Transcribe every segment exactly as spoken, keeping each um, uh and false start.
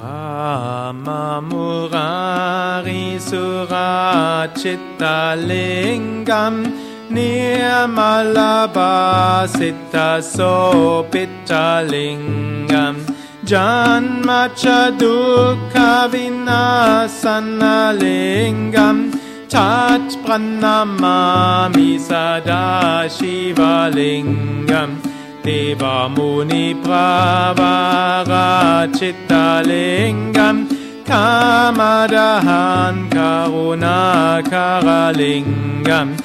Brahma Murari Surachitta Lingam Nirmalabhasita Sopita Lingam Janmacha Dukkha Vinasana Lingam Tat Pranamami Sada Shiva Lingam Deva Muni Pravara Chitta Lingam Kamadahan Karunakara Lingam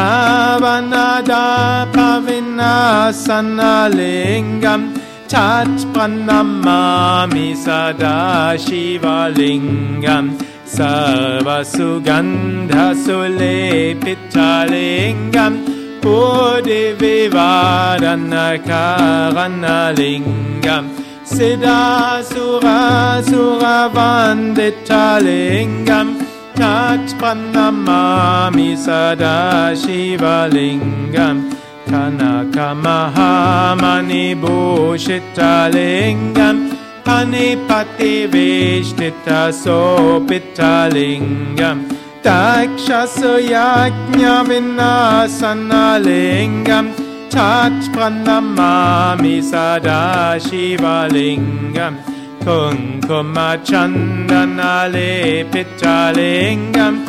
Ravanada Pavinasana Lingam Tat Pranamami Sada Shiva Lingam Sarva Sugandha Sulepita Lingam Bodhi Vivadana Karana Lingam Siddha Sura Sura Vandita Lingam Tat Pranamami Sada Shiva Lingam Kanaka Mahamani Bhushita Lingam Panipati Vishtita Sopita Lingam Dakshasa Yajna Vinasana Lingam Tat Pranamami Sada Shiva Lingam Kunkuma Chandana Lepita Lingam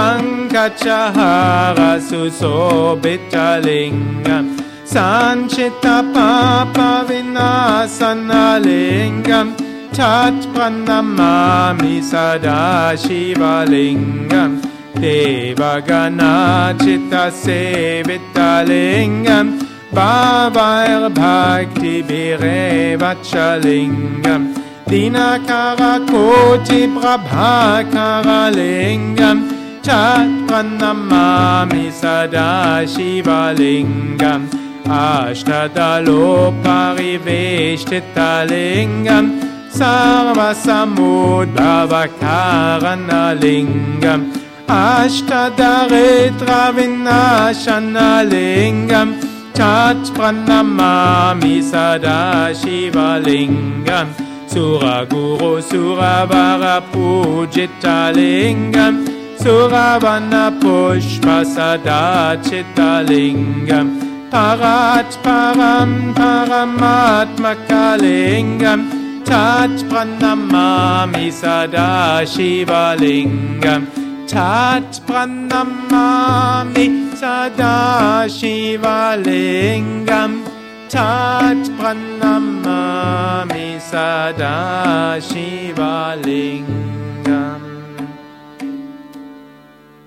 Pankachahara Susobita Lingam Sanchita Papa Vinasana Lingam Tat Pranamami Sada Shiva Lingam Devagana Chitta Sevita Lingam Bhavair Bhakti Birevacha Lingam Dinakara Koti Prabhakara Lingam Tat Pranamami Sada Shiva Lingam Ashtadalo Pariveshtita Lingam Sarva Samudbhavakarana Lingam Ashtadaritra Vinashana Lingam Tat Pranamami Sada Shiva Lingam Suraguru Suravara Pujita Lingam Suravana Pushpa Sada Chitta Lingam Parat Param Paramatmaka Lingam Tat Pranamami Sada Shiva Lingam Tat Pranamami Sada Shiva Lingam Tat Pranamami Sada Shiva Lingam